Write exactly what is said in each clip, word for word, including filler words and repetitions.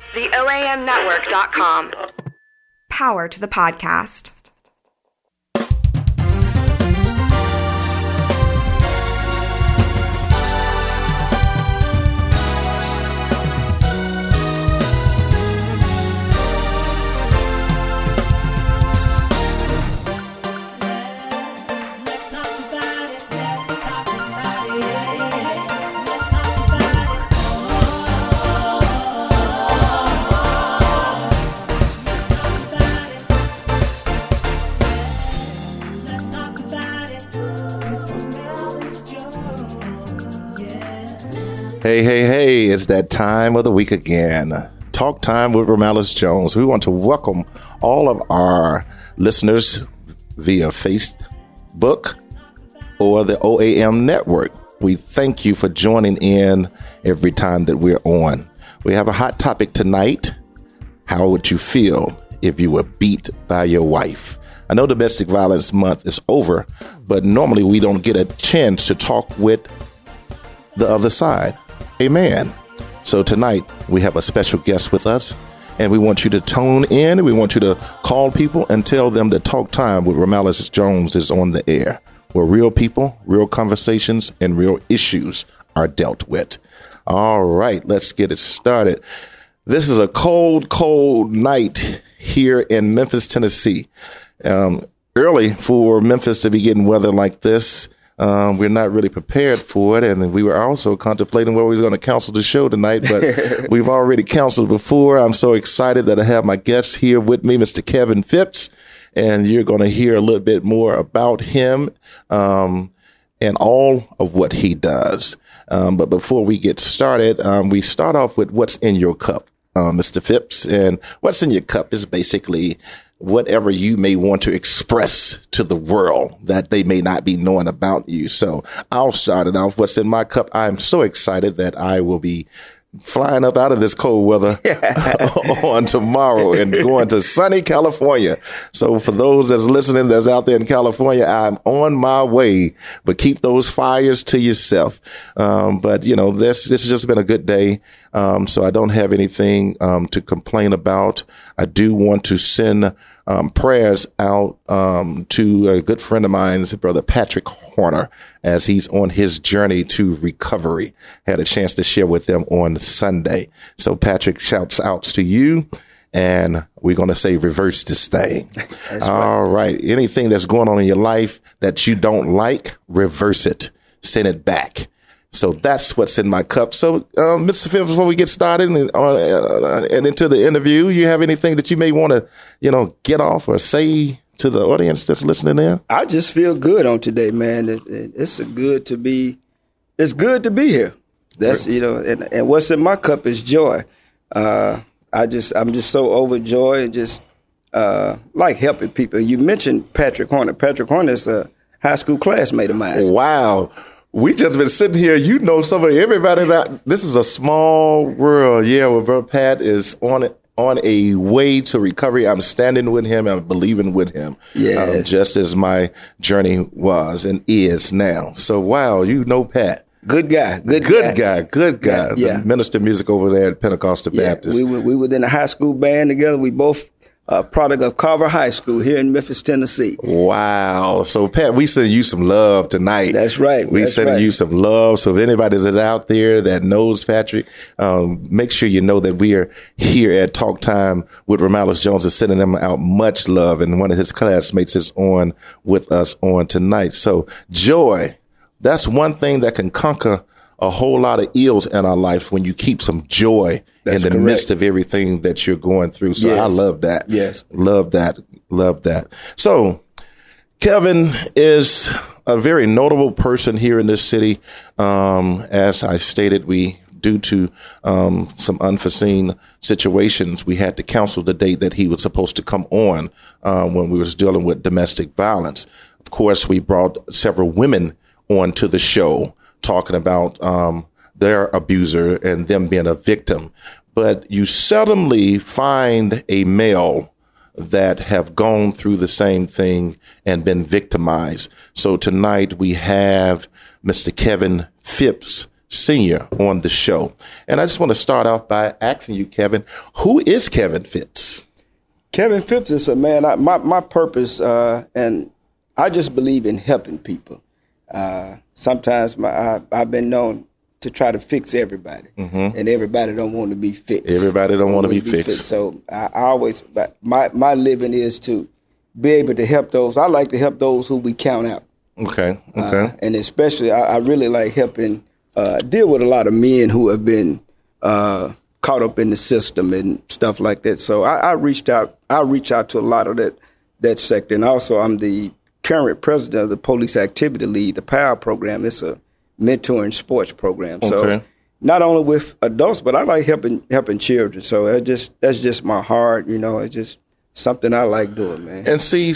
the O A M network dot com. Power to the podcast. Hey, hey, hey, it's that time of the week again. Talk Time with Romelis Jones. We want to welcome all of our listeners via Facebook or the O A M network. We thank you for joining in every time that we're on. We have a hot topic tonight. How would you feel if you were beat by your wife? I know Domestic Violence Month is over, but normally we don't get a chance to talk with the other side. Amen. So tonight we have a special guest with us, and we want you to tune in. We want you to call people and tell them that Talk Time with Romelis Jones is on the air, where real people, real conversations, and real issues are dealt with. All right, let's get it started. This is a cold, cold night here in Memphis, Tennessee. Um, early for Memphis to be getting weather like this. Um, we're not really prepared for it, and we were also contemplating where we were going to cancel the show tonight, but we've already canceled before. I'm so excited that I have my guest here with me, Mister Kevin Phipps, and you're going to hear a little bit more about him um, and all of what he does. Um, but before we get started, um, we start off with what's in your cup, uh, Mister Phipps, and what's in your cup is basically whatever you may want to express to the world that they may not be knowing about you. So I'll start it off. What's in my cup? I'm so excited that I will be flying up out of this cold weather on tomorrow and going to sunny California. So for those that's listening, that's out there in California, I'm on my way, but keep those fires to yourself. Um, but you know, this, this has just been a good day. Um, so I don't have anything, um, to complain about. I do want to send, um, prayers out, um, to a good friend of mine, Brother Patrick Horner, as he's on his journey to recovery. Had a chance to share with them on Sunday. So Patrick, shouts out to you. And we're going to say reverse this thing. That's all right. right. Anything that's going on in your life that you don't like, reverse it. Send it back. So that's what's in my cup. So, uh, Mister Phipps, before we get started and, uh, and into the interview, you have anything that you may want to, you know, get off or say to the audience that's listening in? I just feel good on today, man. It's, it's a good to be. It's good to be here. That's you know, and, and what's in my cup is joy. Uh, I just, I'm just so overjoyed and just uh, like helping people. You mentioned Patrick Horner. Patrick Horner is a high school classmate of mine. Wow. We just been sitting here. You know, some of everybody that this is a small world. Yeah, well, Brother Pat is on it. On a way to recovery. I'm standing with him. I'm believing with him. Yes. Um, just as my journey was and is now. So, wow, you know Pat. Good guy. Good, good guy. guy. Good guy. Yeah. yeah. The minister of music over there at Pentecostal yeah. Baptist. We were, we were in a high school band together. We both a product of Carver High School here in Memphis, Tennessee. Wow. So, Pat, we send you some love tonight. That's right. We That's sending right. you some love. So if anybody is out there that knows Patrick, um, make sure you know that we are here at Talk Time with Romelis Jones is sending them out much love. And one of his classmates is on with us on tonight. So joy, that's one thing that can conquer a whole lot of ills in our life when you keep some joy That's in the correct. midst of everything that you're going through. So yes. I love that. Yes. Love that. Love that. So Kevin is a very notable person here in this city. Um, as I stated, we, due to um, some unforeseen situations, we had to cancel the date that he was supposed to come on uh, when we was dealing with domestic violence. Of course, we brought several women onto the show talking about um, their abuser and them being a victim. But you seldomly find a male that have gone through the same thing and been victimized. So tonight we have Mister Kevin Phipps Senior on the show. And I just want to start off by asking you, Kevin, who is Kevin Phipps? Kevin Phipps is a man, I, my, my purpose, uh, and I just believe in helping people. Uh, sometimes my, I, I've been known to try to fix everybody, mm-hmm. and everybody don't want to be fixed. Everybody don't want to be, be fixed. fixed. So I, I always, my, my living is to be able to help those. I like to help those who we count out. Okay, okay. Uh, and especially, I, I really like helping uh, deal with a lot of men who have been uh, caught up in the system and stuff like that. So I, I reached out. I reach out to a lot of that that sector, and also I'm the current president of the Police Activity League, the POWER program. It's a mentoring sports program. So okay. not only with adults, but I like helping helping children. So it just that's just my heart. You know, it's just something I like doing, man. And see,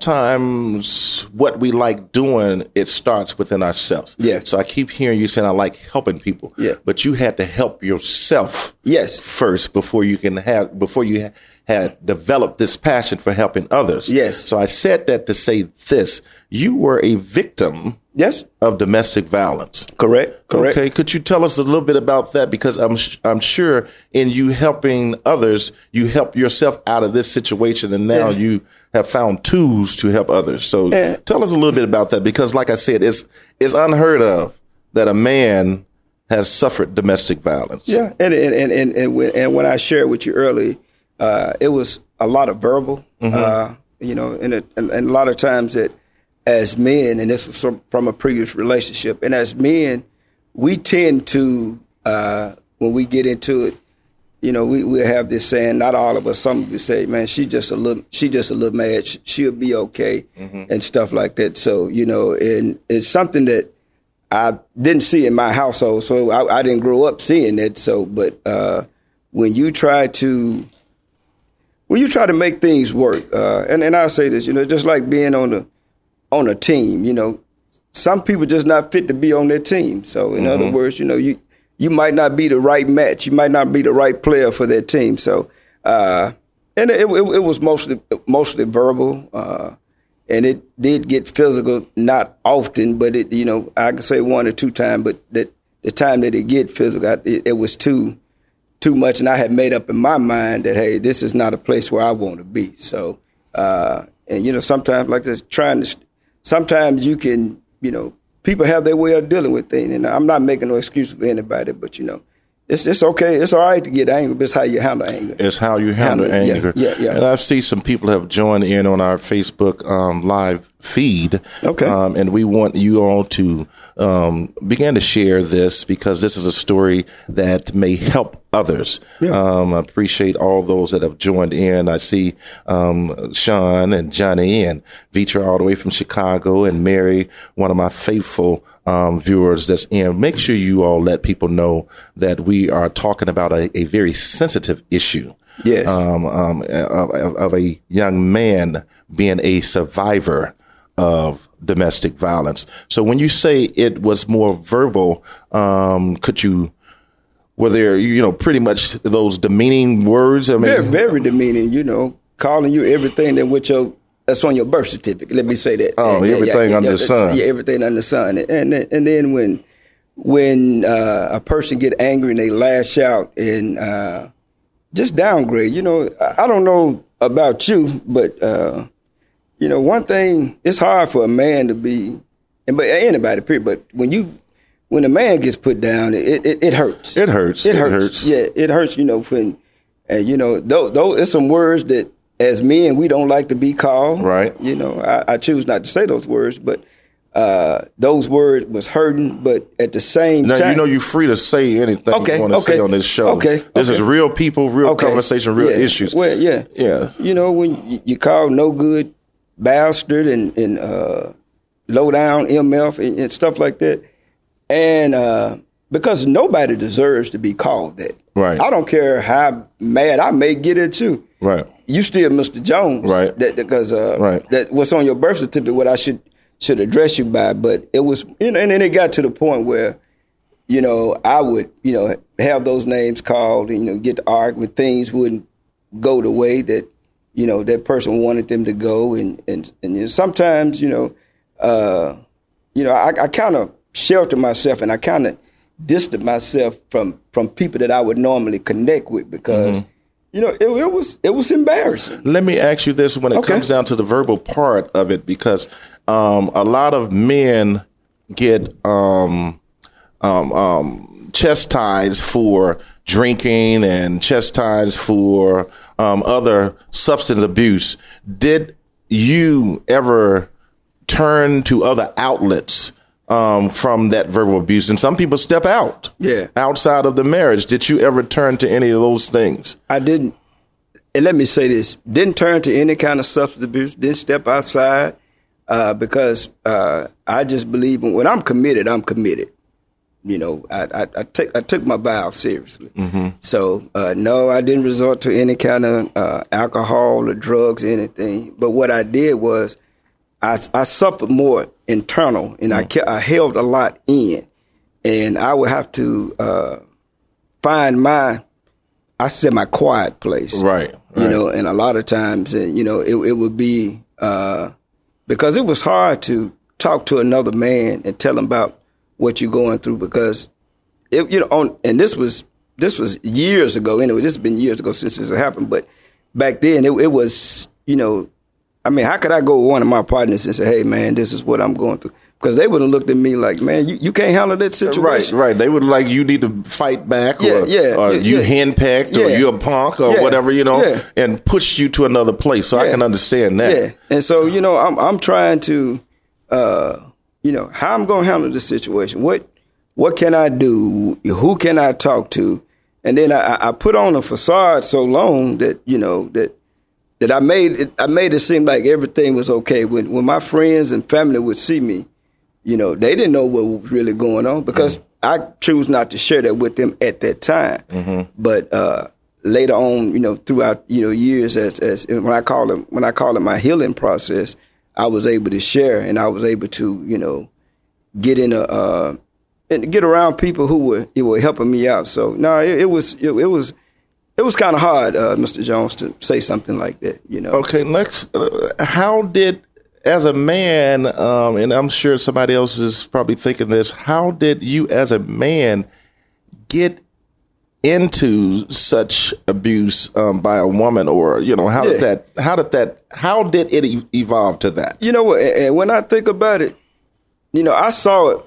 sometimes what we like doing, it starts within ourselves. Yes. So I keep hearing you saying I like helping people. Yeah. But you had to help yourself. Yes. First before you can have before you had developed this passion for helping others. Yes. So I said that to say this: you were a victim. Yes. Of domestic violence. Correct. Correct. Okay. Could you tell us a little bit about that? Because I'm I'm sure in you helping others, you help yourself out of this situation, and now yeah. you have found tools to help others. So yeah. tell us a little bit about that, because, like I said, it's it's unheard of that a man has suffered domestic violence. Yeah, and and and and, and, when, and when I shared with you earlier, uh, it was a lot of verbal, mm-hmm. uh, you know, and, it, and and a lot of times that. As men, and this was from, from a previous relationship, and as men, we tend to, uh, when we get into it, you know, we we have this saying. Not all of us. Some people say, "Man, she just a little, she just a little mad. She, she'll be okay," mm-hmm. and stuff like that. So, you know, and it's something that I didn't see in my household. So I, I didn't grow up seeing it. So, but uh, when you try to, when you try to make things work, uh, and and I say this, you know, just like being on the on a team, you know, some people just not fit to be on their team. So in mm-hmm. other words, you know, you you might not be the right match. You might not be the right player for their team. So, uh, and it, it, it was mostly mostly verbal, uh, and it did get physical, not often, but it, you know, I could say one or two times, but that the time that it get physical, it, it was too too much, and I had made up in my mind that, hey, this is not a place where I want to be. So, uh, and you know, sometimes like this, trying to. Sometimes you can, you know, people have their way of dealing with things, and I'm not making no excuse for anybody, but, you know, it's it's okay. It's all right to get angry, but it's how you handle anger. It's how you handle, handle anger. Yeah, yeah, yeah. And I've seen some people have joined in on our Facebook um, live feed. Okay. Um, and we want you all to um, begin to share this, because this is a story that may help others. Yeah. Um, I appreciate all those that have joined in. I see um, Sean and Johnny and Vitra all the way from Chicago, and Mary, one of my faithful um, viewers that's in. Make sure you all let people know that we are talking about a, a very sensitive issue. Yes. Um, um, of, of a young man being a survivor of domestic violence. So when you say it was more verbal, um, could you, were there, you know, pretty much those demeaning words? I mean, very, very demeaning, you know, calling you everything that with your, that's on your birth certificate. Let me say that. Oh, yeah, everything yeah, under yeah, the sun. Yeah, everything under the sun. And, and, and then when, when uh, a person get angry and they lash out and uh, just downgrade, you know, I don't know about you, but, uh, you know, one thing, it's hard for a man to be, and but anybody, period, but when you, when a man gets put down, it it, it hurts. It hurts. It, it hurts. hurts. Yeah, it hurts, you know, when, and, you know, though, though it's some words that as men, we don't like to be called. Right. You know, I, I choose not to say those words, but uh, those words was hurting, but at the same now, time. Now, you know you're free to say anything okay, you want to okay, say on this show. Okay. This okay. is real people, real okay. conversation, real yeah. issues. Well, yeah. Yeah. You know, when you call no good bastard and, and uh, low down M F and, and stuff like that. And uh, because nobody deserves to be called that. Right. I don't care how mad I may get at you. Right. You still Mister Jones. Right. That because uh, right. that what's on your birth certificate, what I should should address you by. But it was, you know, and then it got to the point where, you know, I would, you know, have those names called and, you know, get to argue when things wouldn't go the way that, you know, that person wanted them to go. And, and, and you know, sometimes, you know, uh, you know, I, I kind of shelter myself and I kind of distant myself from from people that I would normally connect with because. Mm-hmm. You know, it, it was it was embarrassing. Let me ask you this when it okay. comes down to the verbal part of it, because um, a lot of men get um, um, um, chastised for drinking and chastised for um, other substance abuse. Did you ever turn to other outlets um, from that verbal abuse? And some people step out yeah. outside of the marriage. Did you ever turn to any of those things? I didn't. And let me say this, didn't turn to any kind of substance abuse, didn't step outside uh, because uh, I just believe when I'm committed, I'm committed. You know, I, I, I, take, I took my vow seriously. Mm-hmm. So, uh, no, I didn't resort to any kind of uh, alcohol or drugs or anything. But what I did was I, I suffered more internal, and mm. I, kept, I held a lot in. And I would have to uh, find my, I said my quiet place. Right, right. You know, and a lot of times, you know, it, it would be, uh, because it was hard to talk to another man and tell him about what you're going through because, it, you know, on, and this was, this was years ago anyway, this has been years ago since this happened, but back then it, it was, you know, I mean, how could I go with one of my partners and say, hey, man, this is what I'm going through? Because they would have looked at me like, man, you, you can't handle that situation. Right, right. They would like, you need to fight back yeah, or, yeah, or yeah, you yeah. henpecked yeah. or you're a punk or yeah. whatever, you know, yeah. and push you to another place. So yeah. I can understand that. Yeah. And so, you know, I'm I'm trying to, uh, you know, how I'm going to handle this situation. What what can I do? Who can I talk to? And then I, I put on a facade so long that, you know, that that I made it, I made it seem like everything was okay. When when my friends and family would see me, you know, they didn't know what was really going on because mm-hmm. I choose not to share that with them at that time. Mm-hmm. But uh, later on, you know, throughout you know years, as as when I call it when I call it my healing process, I was able to share and I was able to you know get in a uh, and get around people who were who were helping me out. So no, it, it was it, it was. It was kind of hard, uh, Mister Jones, to say something like that, you know. Okay, next, uh, how did, as a man, um, and I'm sure somebody else is probably thinking this, how did you as a man get into such abuse um, by a woman, or, you know, how yeah. did that, how did that, how did it e- evolve to that? You know what, and when I think about it, you know, I saw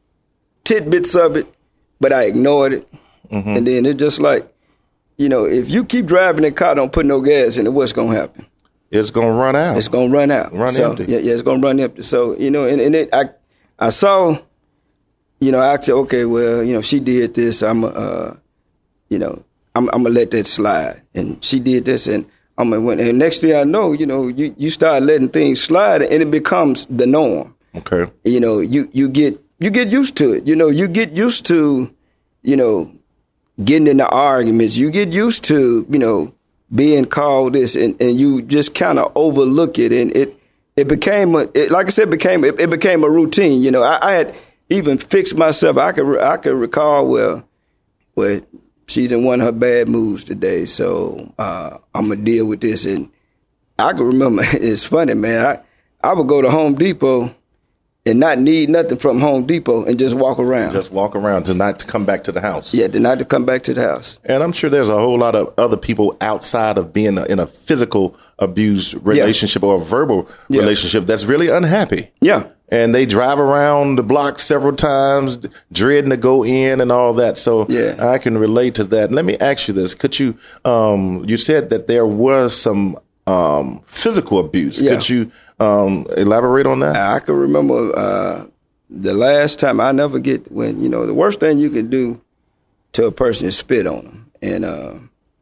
tidbits of it, but I ignored it. Mm-hmm. And then it just like, you know, if you keep driving that car, don't put no gas in it, what's going to happen? It's going to run out. It's going to run out. Run so, empty. Yeah, yeah, it's going to run empty. So, you know, and, and it, I I saw, you know, I said, okay, well, you know, she did this. I'm, uh, you know, I'm, I'm going to let that slide. And she did this. And I'm going to, and next thing I know, you know, you, you start letting things slide and it becomes the norm. Okay. You know, you, you get, you get used to it. You know, you get used to, you know, getting into arguments, you get used to, you know, being called this, and, and you just kind of overlook it, and it it became a, it, like I said, became it, it became a routine. You know, I, I had even fixed myself. I could I could recall well, well, she's in one of her bad moods today, so uh, I'm gonna deal with this, and I can remember. It's funny, man. I I would go to Home Depot and not need nothing from Home Depot and just walk around. Just walk around to not to come back to the house. Yeah, to not to come back to the house. And I'm sure there's a whole lot of other people outside of being a, in a physical abuse relationship yeah. or a verbal yeah. relationship that's really unhappy. Yeah. And they drive around the block several times, dreading to go in and all that. So yeah. I can relate to that. Let me ask you this. Could you, um, you said that there was some um, physical abuse. Yeah. Could you um, elaborate on that? I can remember uh, the last time, I never get when, you know, the worst thing you can do to a person is spit on them. And, uh,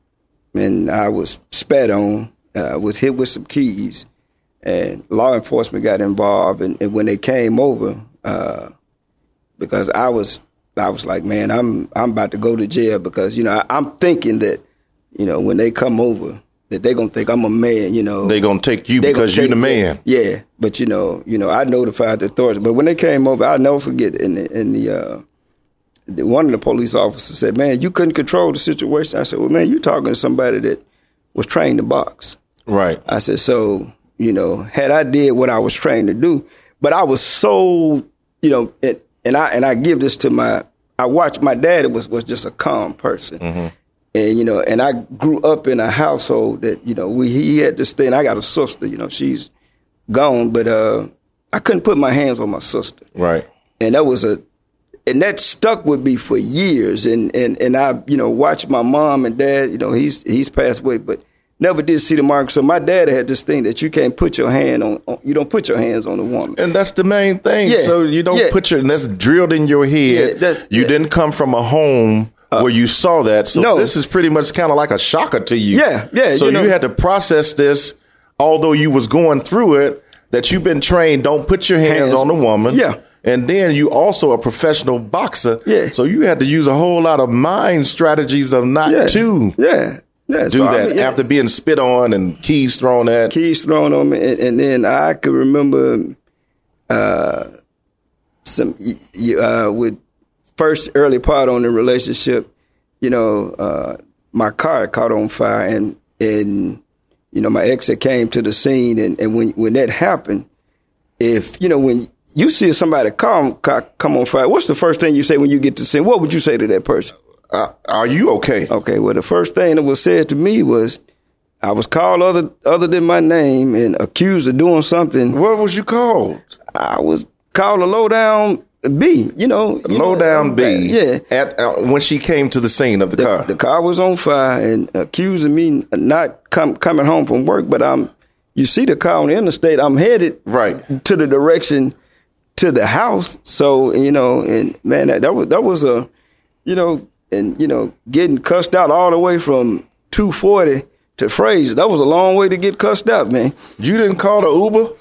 and I was spat on, uh, was hit with some keys. And law enforcement got involved, and, and when they came over, uh, because I was, I was like, man, I'm, I'm about to go to jail because you know I, I'm thinking that, you know, when they come over, that they're gonna think I'm a man, you know. They're gonna take you because you're the man. Yeah, but you know, you know, I notified the authorities. But when they came over, I'll never forget. In the, in the, uh, the one of the police officers said, "Man, you couldn't control the situation." I said, "Well, man, you're talking to somebody that was trained to box." Right. I said, so. You know, had I did what I was trained to do, but I was so, you know, and, and I and I give this to my, I watched my dad was was just a calm person. Mm-hmm. And, you know, and I grew up in a household that, you know, we he had this thing. I got a sister, you know, she's gone, but uh, I couldn't put my hands on my sister. Right. And that was a, and that stuck with me for years. And, and, and I, you know, watched my mom and dad, you know, he's he's passed away, but never did see the mark. So my dad had this thing that you can't put your hand on, on you don't put your hands on a woman. And that's the main thing. Yeah. So you don't Yeah. put your, and that's drilled in your head. Yeah, that's- you yeah. didn't come from a home where you saw that. So no. this is pretty much kind of like a shocker to you. Yeah, yeah, So you know- you had to process this, although you was going through it, that you've been trained, don't put your hands, Hands- on a woman. Yeah. And then you also a professional boxer. Yeah. So you had to use a whole lot of mind strategies of not Yeah. to Yeah. Yeah. do So, I that mean, yeah. after being spit on and keys thrown at. Keys thrown on me, and, and then I could remember uh, some uh, with first early part on the relationship. You know, uh, my car caught on fire, and and you know my ex had came to the scene, and, and when when that happened, if you know when you see somebody come come on fire, what's the first thing you say when you get to the scene? What would you say to that person? Uh, are you okay? Okay, well, the first thing that was said to me was, I was called other other than my name and accused of doing something. What was you called? I was called a low down B. You know, you Low know, down B. Yeah. At uh, when she came to the scene of the, The, car. the car was on fire and accusing me not come, coming home from work, but I'm. You see the car on the interstate. I'm headed Right. to the direction to the house. So you know, and man, that, that was that was a, you know. And, you know, getting cussed out all the way from two forty to Fraser, that was a long way to get cussed out, man. You didn't call the Uber?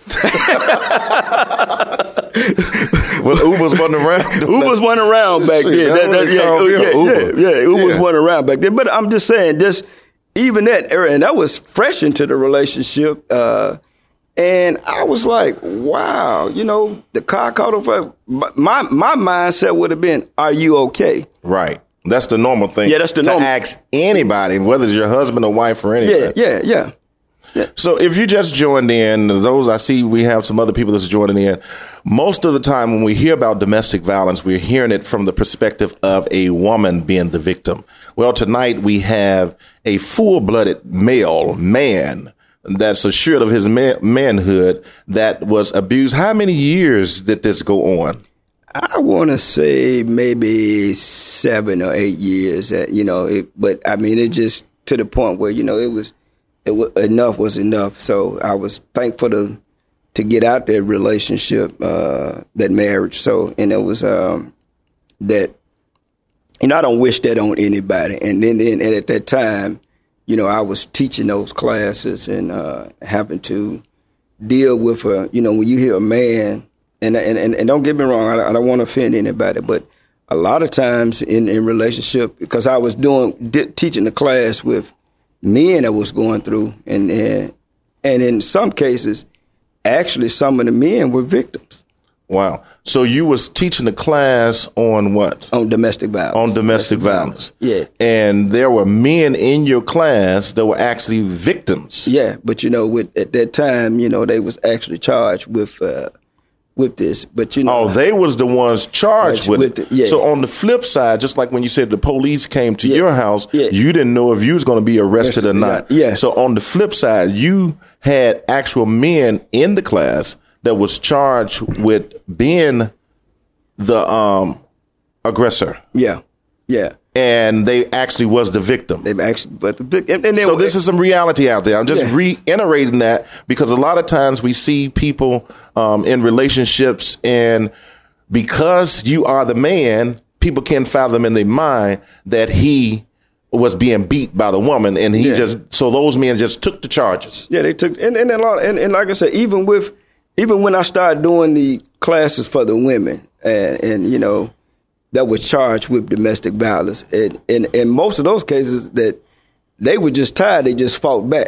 Well, Ubers wasn't around. Ubers wasn't around back Shit, then. that's That- what that- they yeah, call me, yeah, a Uber. yeah, yeah, Ubers Yeah. wasn't around back then. But I'm just saying, just even that era, and that was fresh into the relationship. Uh, and I was like, wow, you know, the car caught on fire. My, my mindset would have been, are you okay? Right. That's the normal thing. Yeah, that's the to normal- ask anybody, whether it's your husband or wife or Yeah, anything. yeah, yeah. So if you just joined in, those I see we have some other people that's joining in. Most of the time when we hear about domestic violence, we're hearing it from the perspective of a woman being the victim. Well, tonight we have a full-blooded male man that's assured of his man- manhood that was abused. How many years did this go on? I want to say maybe seven or eight years. That, you know, it, but I mean, it just to the point where you know it was, it was enough was enough. So I was thankful to to get out that relationship, uh, that marriage. So and it was um, that, you know, I don't wish that on anybody. And then, then and at that time, you know, I was teaching those classes and uh, having to deal with a, you know, when you hear a man. And, and and and don't get me wrong, I, I don't want to offend anybody, but a lot of times in, in relationship, because I was doing di- teaching the class with men that was going through, and, and and in some cases, actually some of the men were victims. Wow. So you was teaching the class on what? On domestic violence. On domestic, violence. Yeah. And there were men in your class that were actually victims. Yeah, but you know, with at that time, you know, they was actually charged with uh, with this. But you know, Oh, they was the ones charged With with, it, it. yeah. So on the flip side, just like when you said the police came to Yeah. your house, Yeah. you didn't know if you was going to be arrested or Arrested, not. yeah. So on the flip side, you had actual men in the class that was charged with being the um, aggressor, yeah, yeah, and they actually was the victim. they've actually, but the vic- and, and then So this is some reality out there. I'm just Yeah. reiterating that because a lot of times we see people um, in relationships, and because you are the man, people can't fathom in their mind that he was being beat by the woman, and he Yeah. just so those men just took the charges. Yeah, they took, and, and a lot, and, and like I said, even with, even when I started doing the classes for the women, and, and you know, that was charged with domestic violence, and in and most of those cases that they were just tired, they just fought back.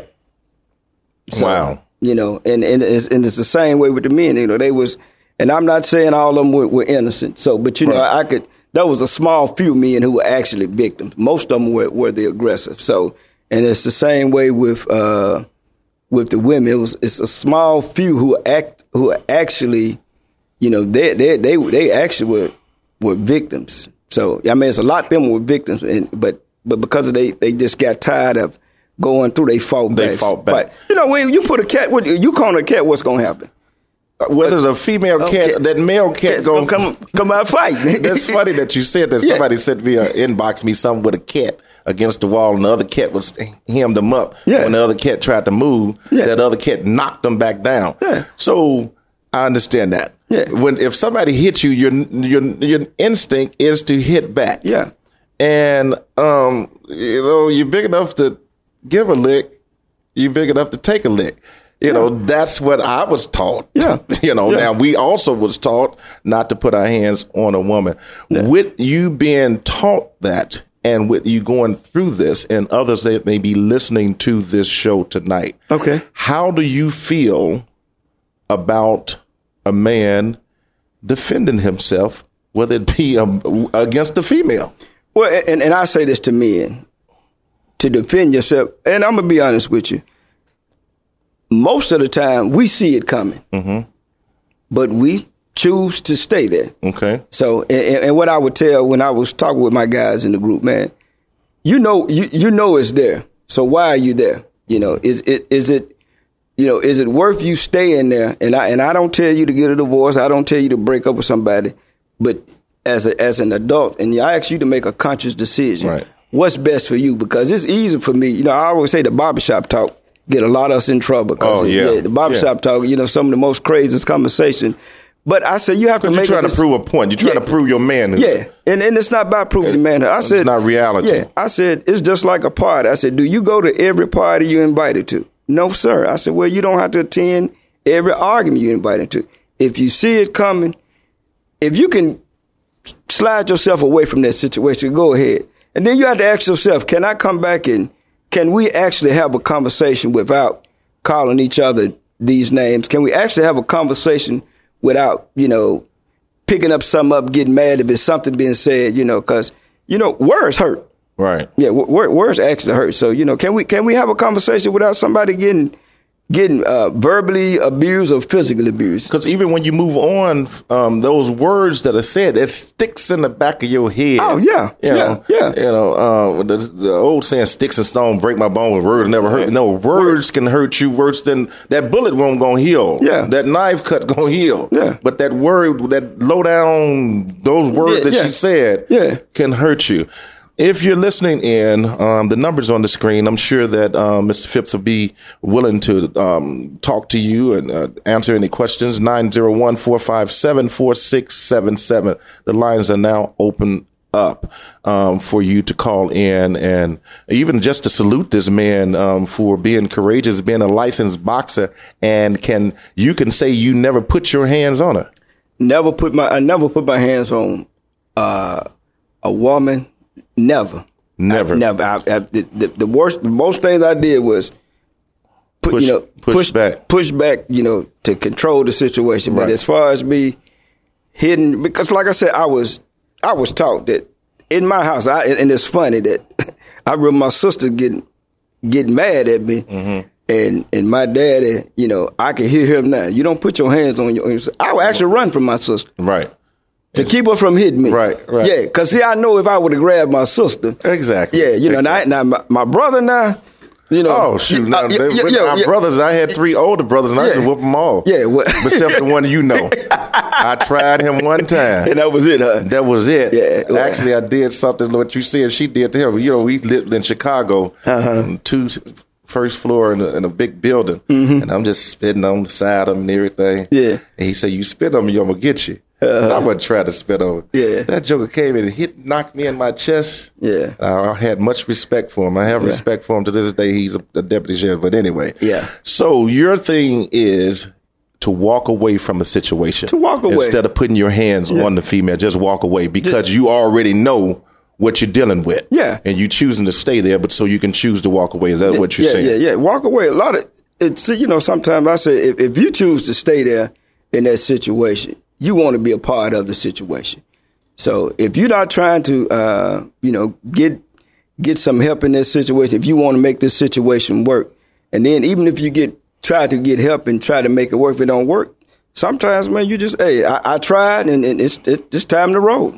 So, Wow. you know, and and it's, and it's the same way with the men. You know, they was, and I'm not saying all of them were, were innocent. So, but you know, Right. I could. That was a small few men who were actually victims. Most of them were, were the aggressive. So, and it's the same way with uh, with the women. It was it's a small few who act who are actually, you know, they they they they actually were were victims. So I mean, it's a lot of them were victims, and, but but because of they they just got tired of going through, they fought back. They fought back. But, you know, when you put a cat, what, you call a cat, what's going to happen? Whether it's a female cat, Okay. that male cat's Cat's going gonna come come out fighting. That's funny that you said that. Yeah. Somebody sent me or inbox me something with a cat against the wall, and the other cat was hemmed them up. Yeah. When the other cat tried to move, Yeah. that other cat knocked them back down. Yeah. So I understand that. Yeah. When if somebody hits you, your your your instinct is to hit back. Yeah. And um, you know, you're big enough to give a lick. You're big enough to take a lick. You know, that's what I was taught. Yeah. You know, Yeah. now we also was taught not to put our hands on a woman. Yeah. With you being taught that, and with you going through this, and others that may be listening to this show tonight, Okay. how do you feel about a man defending himself, whether it be um, against a female? Well, and, and I say this to men, to defend yourself, and I'm going to be honest with you. Most of the time, we see it coming, Mm-hmm. but we choose to stay there. Okay. So, and, and what I would tell when I was talking with my guys in the group, man, you know, you, you know it's there. So why are you there? You know, is it is it, you know, is it worth you staying there? And I and I don't tell you to get a divorce. I don't tell you to break up with somebody, but as a, as an adult, and I ask you to make a conscious decision. Right. What's best for you? Because it's easy for me. You know, I always say the barbershop talk get a lot of us in trouble. 'Cause Oh, it- yeah. the barbershop Yeah. talk, you know, some of the most craziest conversation. But I said you have to Because make you're a trying to dec- prove a point. You're trying Yeah. to prove your man. Yeah, and and it's not about proving the manhood. I It's said not reality. Yeah, I said it's just like a party. I said, do you go to every party you're invited to? No, sir. I said, well, you don't have to attend every argument you're invited to. If you see it coming, if you can slide yourself away from that situation, go ahead. And then you have to ask yourself, can I come back and can we actually have a conversation without calling each other these names? Can we actually have a conversation without, you know, picking up something up, getting mad if it's something being said, you know, because, you know, words hurt. Right. Yeah, w- words actually hurt. So, you know, can we can we have a conversation without somebody getting getting uh, verbally abused or physically abused? Because even when you move on, um, those words that are said, it sticks in the back of your head. Oh, yeah, you yeah, know, yeah. You know, uh, the, the old saying, "Sticks and stone break my bone, but words never hurt." No, words can hurt you worse than that bullet wound gonna heal. Yeah. that knife cut gonna heal. Yeah. but that word, that low down, those words Yeah, that yeah. she said, Yeah. can hurt you. If you're listening in, um, the number's on the screen. I'm sure that um, Mister Phipps will be willing to um, talk to you and uh, answer any questions. nine zero one, four five seven, four six seven seven. The lines are now open up um, for you to call in, and even just to salute this man um, for being courageous, being a licensed boxer, and can you can say you never put your hands on her. Never put my I never put my hands on uh, a woman. Never, Never. I, never. I, I, the, the, the worst, the most things I did was put, Push- you know, push back. push back, you know, to control the situation. But Right. as far as me hidden, because like I said, I was, I was taught that in my house, I, and it's funny that I remember my sister getting, getting mad at me. Mm-hmm. And and my daddy, you know, I can hear him now. You don't put your hands on your. I would actually run from my sister. Right. To keep her from hitting me. Right, right. Yeah, because see, I know if I would have grabbed my sister. Exactly. Yeah, you know, Exactly. now, now my, my brother now, you know. Oh shoot! Now, uh, they- yeah, with yeah, our yeah. brothers, I had three older brothers, and I used to Yeah. whoop them all. Yeah, what- except the one you know. I tried him one time. And that was it, huh? That was it. Yeah, well- Actually, I did something what you said she did to him. You know, we lived in Chicago, Uh-huh. two first floor in a, in a big building, and I'm just spitting on the side of him and everything. Mm-hmm. Yeah. And he said, "You spit on me, I'm gonna get you." Uh-huh. I wasn't trying to spit on him. Yeah. That joker came in and hit, knocked me in my chest. Yeah. I had much respect for him. I have Yeah. respect for him to this day. He's a, a deputy sheriff. But anyway. Yeah. So your thing is to walk away from a situation. To walk away. Instead of putting your hands on the female, just walk away because you already know what you're dealing with. Yeah. And you choosing to stay there, but so you can choose to walk away. Is that what you're yeah, saying? Yeah, yeah, Walk away. A lot of it's you know, sometimes I say if, if you choose to stay there in that situation, you want to be a part of the situation. So if you're not trying to uh, you know, get get some help in this situation, if you want to make this situation work, and then even if you get try to get help and try to make it work, if it don't work, sometimes man, you just hey, I, I tried and, and it's it, it's time to roll.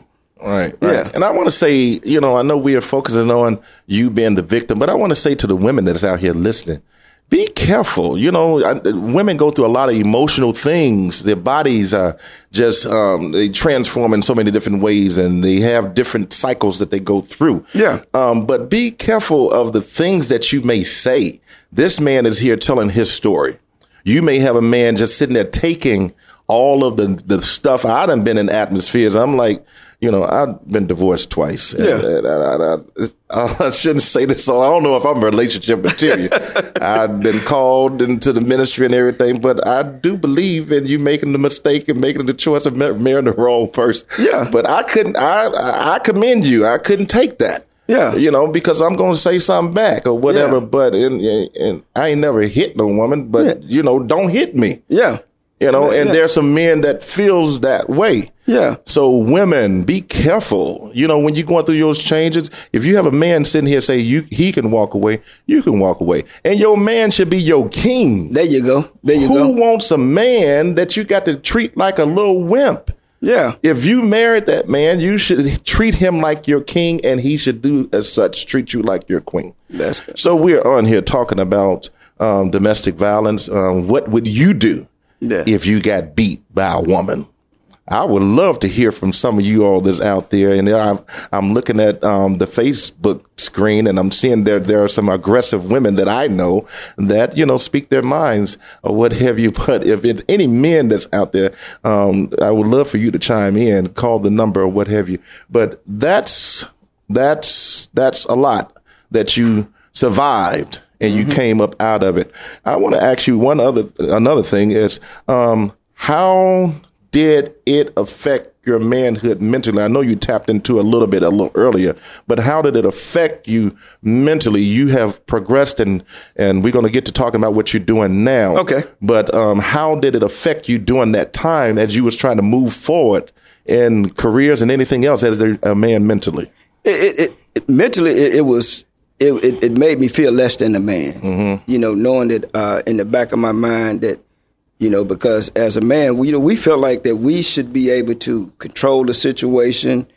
Right, right. Yeah. And I want to say, you know, I know we are focusing on you being the victim, but I want to say to the women that's out here listening, be careful. You know, I, women go through a lot of emotional things. Their bodies are just, um, they transform in so many different ways, and they have different cycles that they go through. Yeah. Um, but be careful of the things that you may say. This man is here telling his story. You may have a man just sitting there taking all of the, the stuff. I done been in atmospheres. I'm like, you know, I've been divorced twice. Yeah. And, and I, I, I shouldn't say this, so I don't know if I'm relationship material. I've been called into the ministry and everything, but I do believe in you making the mistake and making the choice of marrying the wrong person. Yeah. But I couldn't, I, I commend you. I couldn't take that. Yeah. You know, because I'm going to say something back or whatever, Yeah. but and, and I ain't never hit no woman, but, Yeah. you know, don't hit me. Yeah. You know, Yeah, and yeah. there's some men that feels that way. Yeah. So women, be careful. You know, when you're going through those changes, if you have a man sitting here say you he can walk away, you can walk away. And your man should be your king. There you go. There you Who go. wants a man that you got to treat like a little wimp? Yeah. If you married that man, you should treat him like your king, and he should do as such, treat you like your queen. That's good. So we're on here talking about um, domestic violence. Um, what would you do Yeah. if you got beat by a woman? I would love to hear from some of you all that's out there. And I'm, I'm looking at um, the Facebook screen, and I'm seeing there there are some aggressive women that I know that, you know, speak their minds or what have you. But if it, any men that's out there, um, I would love for you to chime in, call the number or what have you. But that's that's that's a lot that you survived and you came up out of it. I want to ask you one other another thing is um, how did it affect your manhood mentally? I know you tapped into a little bit a little earlier, but how did it affect you mentally? You have progressed, and and we're going to get to talking about what you're doing now. Okay. But um, how did it affect you during that time as you was trying to move forward in careers and anything else as a, a man mentally? It, it, it mentally it, it was it, it it made me feel less than a man. Mm-hmm. You know, knowing that uh, in the back of my mind that, you know, because as a man, we you know we felt like that we should be able to control the situation,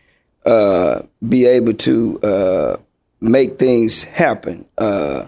uh, be able to uh, make things happen. Uh,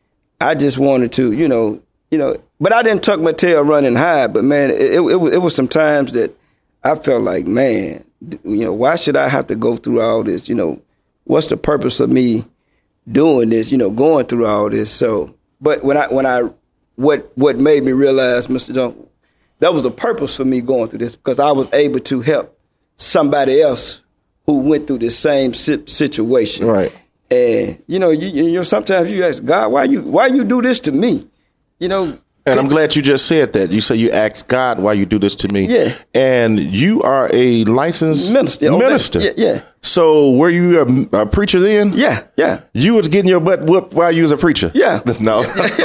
I just wanted to, you know, you know, but I didn't tuck my tail running high. But man, it, it, it was it was some times that I felt like, man, you know, why should I have to go through all this? You know, what's the purpose of me doing this? You know, going through all this. So, but when I when I What what made me realize, Mister Jones, that was a purpose for me going through this, because I was able to help somebody else who went through the same si- situation. Right. And you know, you, you know, sometimes you ask God, why you why you do this to me? You know. And I'm glad you just said that. You say you asked God why you do this to me. Yeah. And you are a licensed Minister. Okay. minister. Yeah, yeah. So were you a, a preacher then? Yeah, yeah. You was getting your butt whooped while you was a preacher? Yeah. No.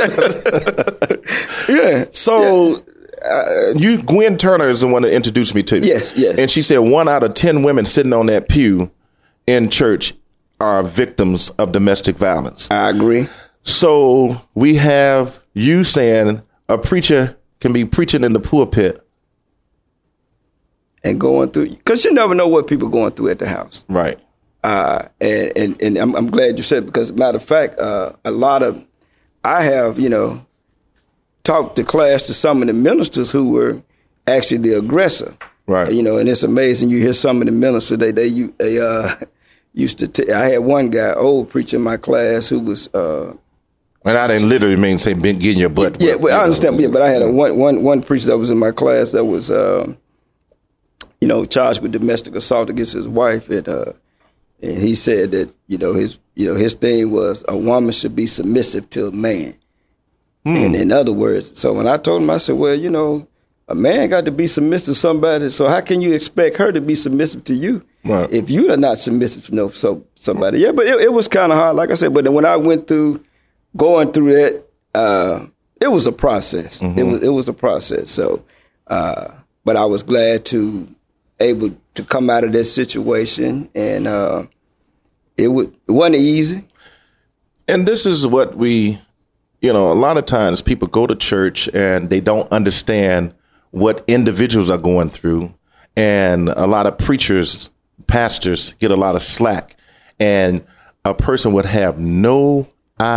Yeah. So uh, you, Gwen Turner is the one that introduced me to you. Yes, yes. And she said one out of ten women sitting on that pew in church are victims of domestic violence. I agree. So we have you saying a preacher can be preaching in the pulpit. And going through, because you never know what people are going through at the house. Right. Uh, and and, and I'm, I'm glad you said it, because, matter of fact, uh, a lot of, I have, you know, talked to class to some of the ministers who were actually the aggressor. Right. You know, and it's amazing. You hear some of the ministers, they, they, they uh, used to, t- I had one guy, old preacher in my class who was, uh, And I didn't literally mean say been getting your butt. yeah, whipped, well, you I know. understand. Yeah, but I had a one, one, one preacher that was in my class that was, uh, you know, charged with domestic assault against his wife, and uh, and he said that, you know, his you know his thing was a woman should be submissive to a man. Hmm. And in other words, so when I told him, I said, well, you know, a man got to be submissive to somebody. So how can you expect her to be submissive to you Right. if you are not submissive to no so somebody? Yeah, but it, it was kind of hard, like I said. But then when I went through going through that, uh, it was a process. Mm-hmm. It was it was a process. So, uh, but I was glad to able to come out of that situation, and uh, it would it wasn't easy. And this is what we, you know, a lot of times people go to church and they don't understand what individuals are going through. And a lot of preachers pastors get a lot of slack, and a person would have no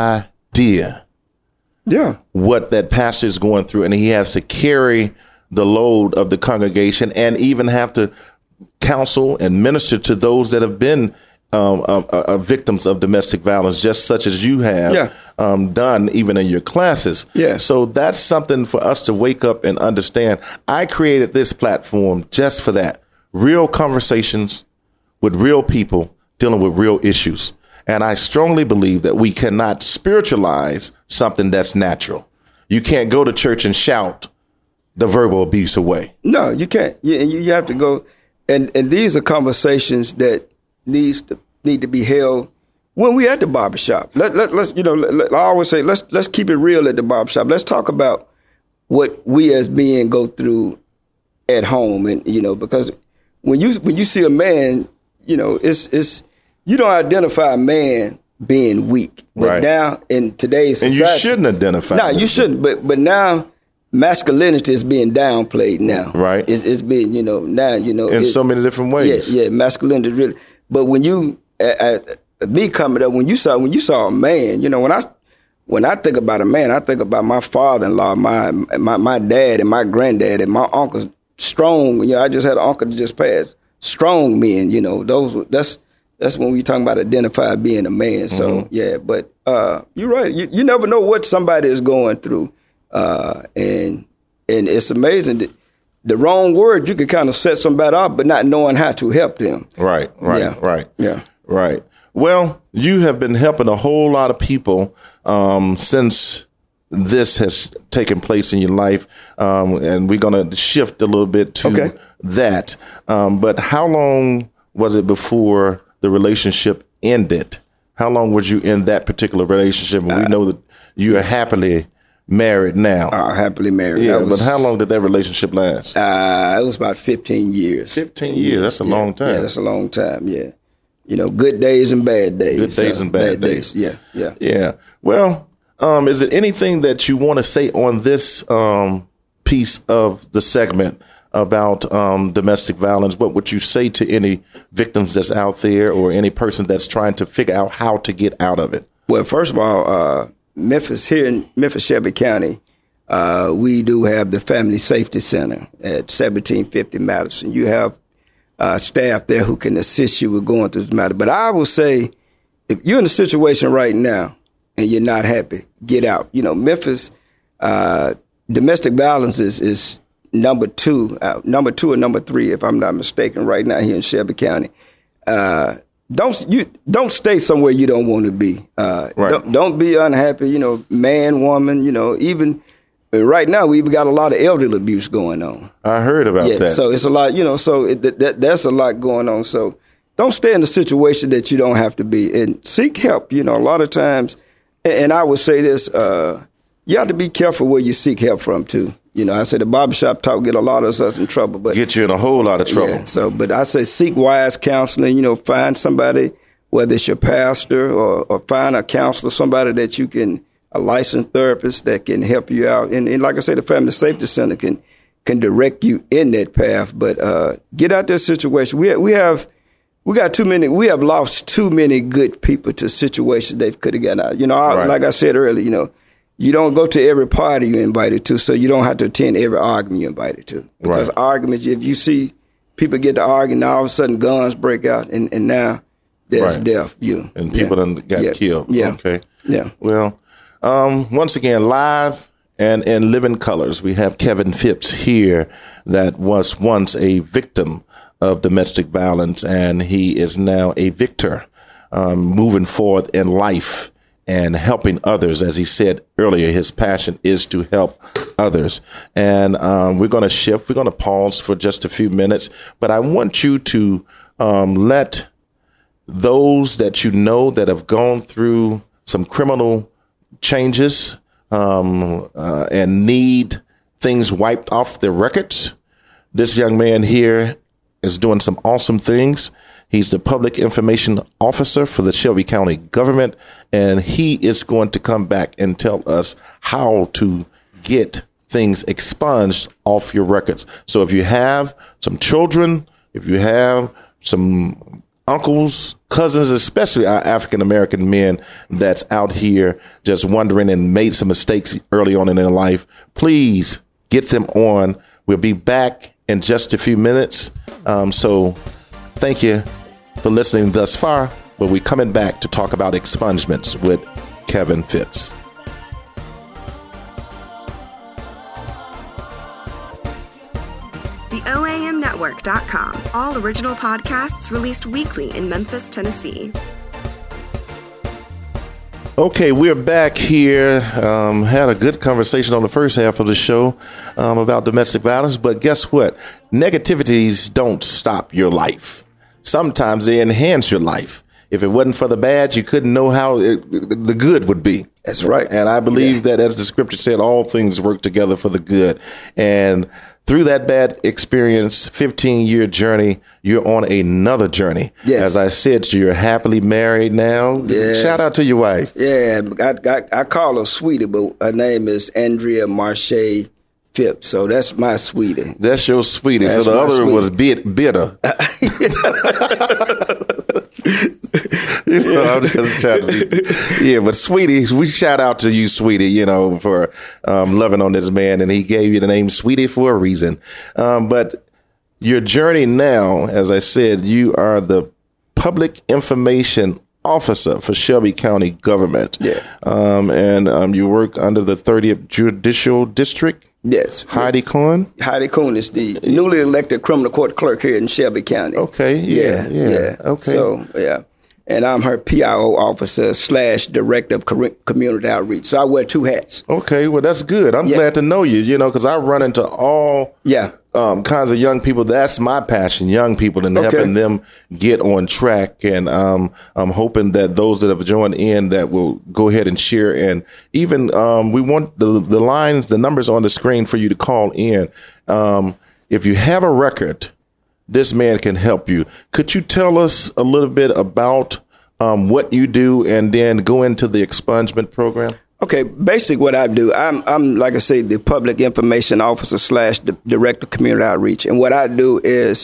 idea yeah. what that pastor is going through, and he has to carry the load of the congregation and even have to counsel and minister to those that have been um, uh, uh, victims of domestic violence, just such as you have yeah. um, done even in your classes. Yeah. So that's something for us to wake up and understand. I created this platform just for that. Real conversations with real people dealing with real issues. And I strongly believe that we cannot spiritualize something that's natural. You can't go to church and shout the verbal abuse away. No, you can't. You, you have to go. And, and these are conversations that needs to need to be held when we at the barbershop. Let, let, let's, you know, let, I always say, let's, let's keep it real at the barbershop. Let's talk about what we as men go through at home. And, you know, because when you, when you see a man, you know, it's, it's, you don't identify a man being weak. But right. now in today's society. And you shouldn't identify. No, you shouldn't. But, but now masculinity is being downplayed now. Right. It's, it's being, you know, now, you know. In so many different ways. Yeah, yeah, masculinity really. But when you, uh, uh, me coming up, when you saw, when you saw a man, you know, when I, when I think about a man, I think about my father-in-law, my, my, my dad and my granddad and my uncles, strong, you know, I just had an uncle that just passed, strong men, you know, those, that's, that's when we talking about identify being a man. So, mm-hmm. yeah, but uh, you're right. You, you never know what somebody is going through. Uh, and and it's amazing that the wrong word, you could kind of set somebody up, but not knowing how to help them. Right, right, yeah. right. Yeah. Right. Well, you have been helping a whole lot of people um, since this has taken place in your life. Um, and we're going to shift a little bit to okay. that. Um, but how long was it before the relationship ended? How long was you in that particular relationship? And we know that you are happily married now. Uh, happily married. Yeah, was, but how long did that relationship last? Uh, it was about fifteen years. fifteen years, that's a yeah, long time. Yeah, that's a long time, yeah. You know, good days and bad days. Good days so, and bad, bad days. days. Yeah, yeah. Yeah. Well, um, is it anything that you want to say on this um, piece of the segment about um, domestic violence? What would you say to any victims that's out there or any person that's trying to figure out how to get out of it? Well, first of all, uh, Memphis, here in Memphis, Shelby County, uh, we do have the Family Safety Center at seventeen fifty Madison. You have uh, staff there who can assist you with going through this matter. But I will say, if you're in a situation right now and you're not happy, get out. You know, Memphis, uh, domestic violence is, is number two, uh, number two or number three, if I'm not mistaken, right now here in Shelby County. Uh, Don't you don't stay somewhere you don't want to be. Uh, right. don't, don't be unhappy. You know, man, woman. You know, even right now we've got a lot of elderly abuse going on. I heard about yeah, that. So it's a lot. You know, so it, that that's a lot going on. So don't stay in a situation that you don't have to be, and seek help. You know, a lot of times, and I would say this: uh, you have to be careful where you seek help from too. You know, I say the barbershop talk get a lot of us in trouble, but get you in a whole lot of trouble. Yeah, so, but I say seek wise counseling. You know, find somebody, whether it's your pastor or, or find a counselor, somebody that you can, a licensed therapist that can help you out. And, and like I say, the Family Safety Center can can direct you in that path. But uh, get out that situation. We we have we got too many. We have lost too many good people to situations they could have gotten out. You know, I, right. like I said earlier, you know. You don't go to every party you're invited to, so you don't have to attend every argument you're invited to. Because right. arguments, if you see people get to arguing, now all of a sudden guns break out, and, and now there's right. death. You and people yeah. done got yeah. killed. Yeah. Okay. Yeah. Well, um, once again, live and in living colors, we have Kevin Phipps here that was once a victim of domestic violence, and he is now a victor, um, moving forward in life and helping others. As he said earlier, his passion is to help others. And um, we're going to shift. We're going to pause for just a few minutes. But I want you to um, let those that you know that have gone through some criminal changes um, uh, and need things wiped off their records. This young man here is doing some awesome things. He's the public information officer for the Shelby County government, and he is going to come back and tell us how to get things expunged off your records. So if you have some children, if you have some uncles, cousins, especially our African American men that's out here just wondering and made some mistakes early on in their life, please get them on. We'll be back in just a few minutes. Um, so thank you for listening thus far. But we're coming back to talk about expungements with Kevin Phipps. The O A M network dot com. All original podcasts released weekly in Memphis, Tennessee. Okay, we're back here. Um, had a good conversation on the first half of the show um, about domestic violence. But guess what? Negativities don't stop your life. Sometimes they enhance your life. If it wasn't for the bad, you couldn't know how it, the good would be. That's right. And I believe yeah. that, as the scripture said, all things work together for the good. And through that bad experience, fifteen-year journey, you're on another journey. Yes. As I said, you're happily married now. Yes. Shout out to your wife. Yeah, I, I, I call her Sweetie, but her name is Andrea Marche Phipps, so that's my sweetie. That's your sweetie. That's so the other sweetie. was bit bitter. You know, I'm just trying to be, yeah, but Sweetie, we shout out to you, Sweetie, you know, for um, loving on this man, and he gave you the name Sweetie for a reason. Um, but your journey now, as I said, you are the public information officer for Shelby County government. Yeah. Um, and um, you work under the thirtieth Judicial District. Yes. Heidi Cohen? Heidi Cohen is the newly elected criminal court clerk here in Shelby County. Okay, yeah, yeah, yeah. Okay. So, yeah. And I'm her P I O officer slash director of community outreach. So I wear two hats. Okay, well, that's good. I'm yeah. glad to know you, you know, because I run into all yeah. um, kinds of young people. That's my passion, young people, and okay. helping them get on track. And um, I'm hoping that those that have joined in that will go ahead and share. And even um, we want the, the lines, the numbers on the screen for you to call in. Um, if you have a record, this man can help you. Could you tell us a little bit about um, what you do and then go into the expungement program? Okay, basically what I do, I'm, I'm like I say, the public information officer slash the director of community outreach. And what I do is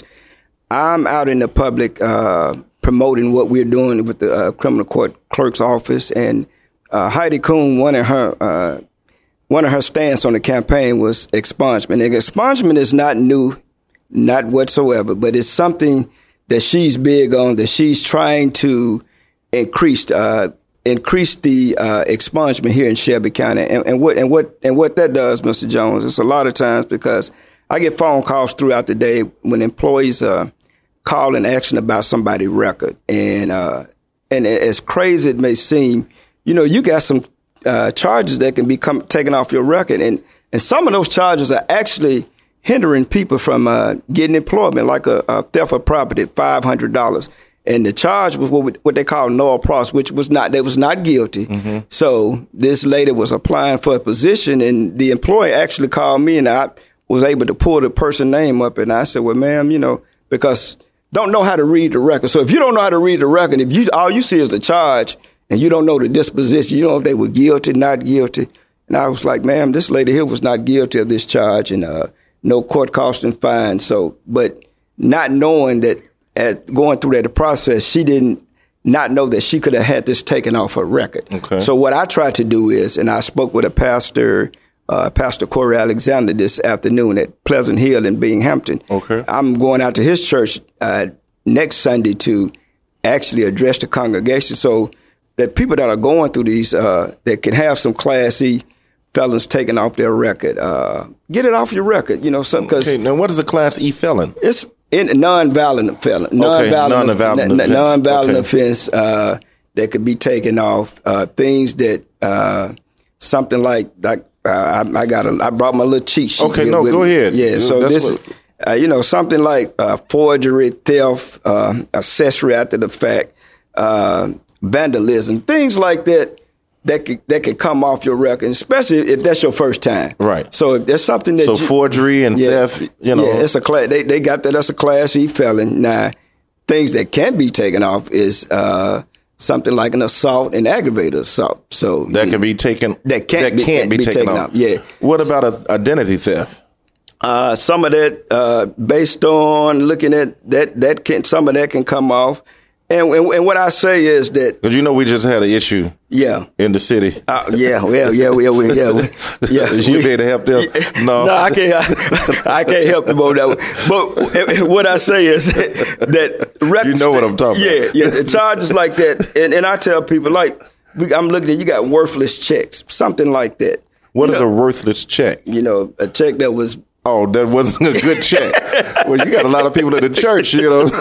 I'm out in the public uh, promoting what we're doing with the uh, criminal court clerk's office. And uh, Heidi Cohen, one of her uh, one of her stance on the campaign was expungement. And expungement is not new. Not whatsoever, but it's something that she's big on, that she's trying to increase uh, increase the uh, expungement here in Shelby County. And, and what and what and what that does, Mister Jones, it's a lot of times because I get phone calls throughout the day when employees uh, call and asking about somebody's record, and uh, and as crazy it may seem, you know, you got some uh, charges that can be come, taken off your record, and and some of those charges are actually hindering people from uh, getting employment, like a, a theft of property, five hundred dollars. And the charge was what, we, what they call nolle pros, which was not, they was not guilty. Mm-hmm. So this lady was applying for a position, and the employer actually called me, and I was able to pull the person's name up. And I said, well, ma'am, you know, because don't know how to read the record. So if you don't know how to read the record, if you all you see is a charge and you don't know the disposition, you don't know if they were guilty, not guilty. And I was like, ma'am, this lady here was not guilty of this charge, and uh, no court cost and fine. So, but not knowing that, at going through that process, she didn't not know that she could have had this taken off her record. Okay. So what I tried to do is, and I spoke with a pastor, uh, Pastor Corey Alexander, this afternoon at Pleasant Hill in Binghamton. Okay. I'm going out to his church uh, next Sunday to actually address the congregation, so that people that are going through these, uh, that can have some Class E felons taken off their record, uh, get it off your record, you know, some because okay. Now, what is a Class E felon? It's in non-violent felon, non-violent, okay. non-violent n- offense, non-violent okay. offense uh, that could be taken off. Uh, things that uh, something like like uh, I, I got a, I brought my little cheat sheet. Okay, no, with go me. ahead. Yeah, so That's this, what... uh, you know, something like uh, forgery, theft, uh, accessory after the fact, uh, vandalism, things like that. That could, that could come off your record, especially if that's your first time. Right. So if there's something that So you, forgery and yeah, theft, you know. Yeah, it's a class. They they got that. That's a Class E felon. Now, things that can be taken off is uh, something like an assault and aggravated assault. So that you, can be taken. That can't that be, can't can't be, be taken, taken off. off. Yeah. What about a, identity theft? Uh, some of that, uh, based on looking at that, that can some of that can come off. And, and, and what I say is that because you know we just had an issue, yeah, in the city. Uh, yeah, well, yeah, yeah, we, yeah, we, yeah. you be able to help them? No, no, I can't. I, I can't help them on that one. But what I say is that rep- you know what I'm talking yeah, about. Yeah, yeah, charges like that, and, and I tell people like we, I'm looking at you got worthless checks, something like that. What you is know, a worthless check? You know, a check that was. Oh, that wasn't a good check. Well, you got a lot of people in the church, you know.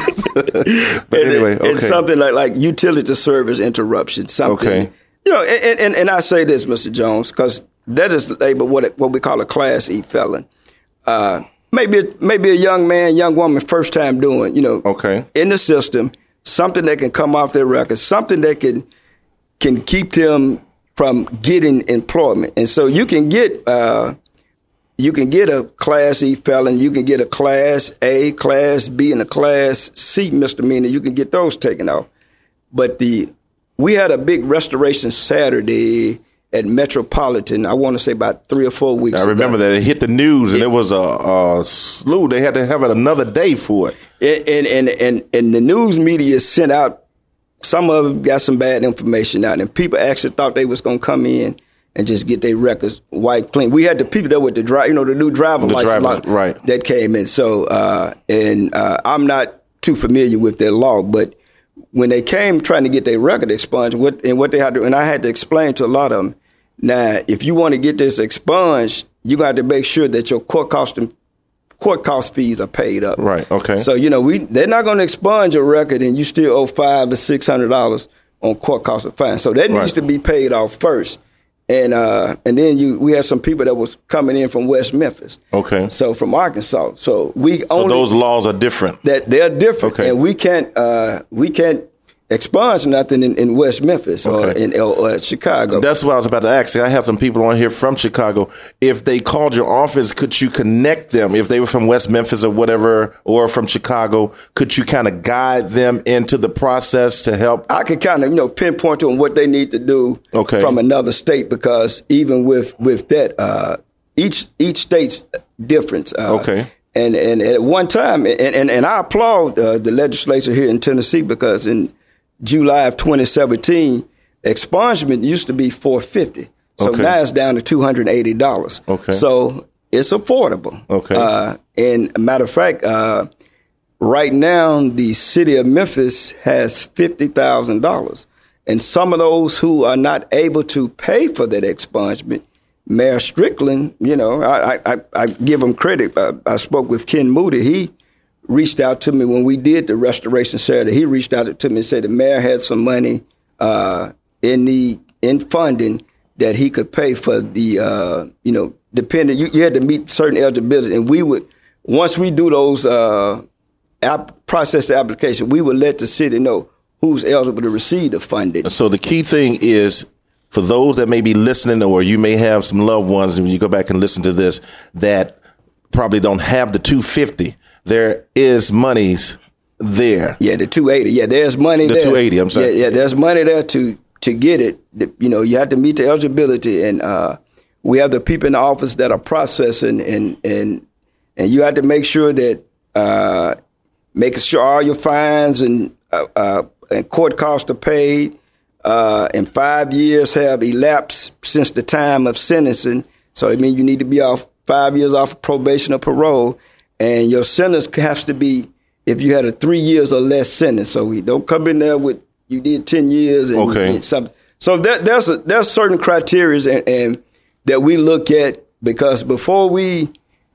But and anyway, it, okay. It's something like like utility service interruption. Something, okay. You know, and, and, and I say this, Mister Jones, because that is labeled what what we call a Class E felon. Uh, maybe maybe a young man, young woman, first time doing, you know, okay, in the system, something that can come off their record, something that can can keep them from getting employment, and so you can get. Uh, You can get a Class E felon, you can get a Class A, Class B, and a Class C misdemeanor. You can get those taken off. But the we had a big restoration Saturday at Metropolitan, I want to say about three or four weeks I remember ago. that. It hit the news, and it, it was a, a slew. They had to have it another day for it. And, and, and, and the news media sent out, some of them got some bad information out, and people actually thought they was going to come in and just get their records wiped clean. We had the people that with the drive, you know, the new driver The license driver, law right. that came in. So, uh, and uh, I'm not too familiar with their law, but when they came trying to get their record expunged, what and what they had to, and I had to explain to a lot of them. Now, if you want to get this expunged, you got to make sure that your court cost and court cost fees are paid up. Right. Okay. So you know, we they're not going to expunge your record, and you still owe five to six hundred dollars on court cost of fine. So that Right. needs to be paid off first. And uh, and then you we had some people that was coming in from West Memphis. Okay. So from Arkansas. So we So only those laws are different. that they're different, Okay. and we can't uh, we can't expunge nothing in, in West Memphis or Okay. in or, or Chicago. That's what I was about to ask. I have some people on here from Chicago. If they called your office, could you connect them? If they were from West Memphis or whatever, or from Chicago, could you kind of guide them into the process to help? I could kind of, you know, pinpoint to them what they need to do Okay. from another state, because even with with that, uh, each each state's different. Uh, Okay. And and at one time, and and, and I applaud uh, the legislature here in Tennessee, because in July of twenty seventeen, expungement used to be four hundred fifty dollars. So Okay. now it's down to two hundred eighty dollars. Okay. So it's affordable. Okay. Uh, and a matter of fact, uh, right now, the city of Memphis has fifty thousand dollars. And some of those who are not able to pay for that expungement, Mayor Strickland, you know, I, I, I give him credit. I, I spoke with Ken Moody. He reached out to me when we did the restoration Saturday. He reached out to me and said the mayor had some money uh, in the in funding that he could pay for the, uh, you know, depending, you, you had to meet certain eligibility. And we would, once we do those uh, app, process the application, we would let the city know who's eligible to receive the funding. So the key thing is, for those that may be listening, or you may have some loved ones, and when you go back and listen to this, that probably don't have the two hundred fifty dollars, there is monies there. Yeah, the two hundred eighty. Yeah, there's money The there. two hundred eighty, I'm sorry. Yeah, yeah, there's money there to to get it. You know, you have to meet the eligibility, and uh, we have the people in the office that are processing, and and and you have to make sure that uh, making sure all your fines and uh, uh, and court costs are paid, uh, and five years have elapsed since the time of sentencing. So it means you need to be off five years off of probation or parole, and your sentence has to be, if you had a three years or less sentence. So we don't come in there with you did ten years and, Okay. and something. So that, there's a, there's certain criteria and, and that we look at, because before we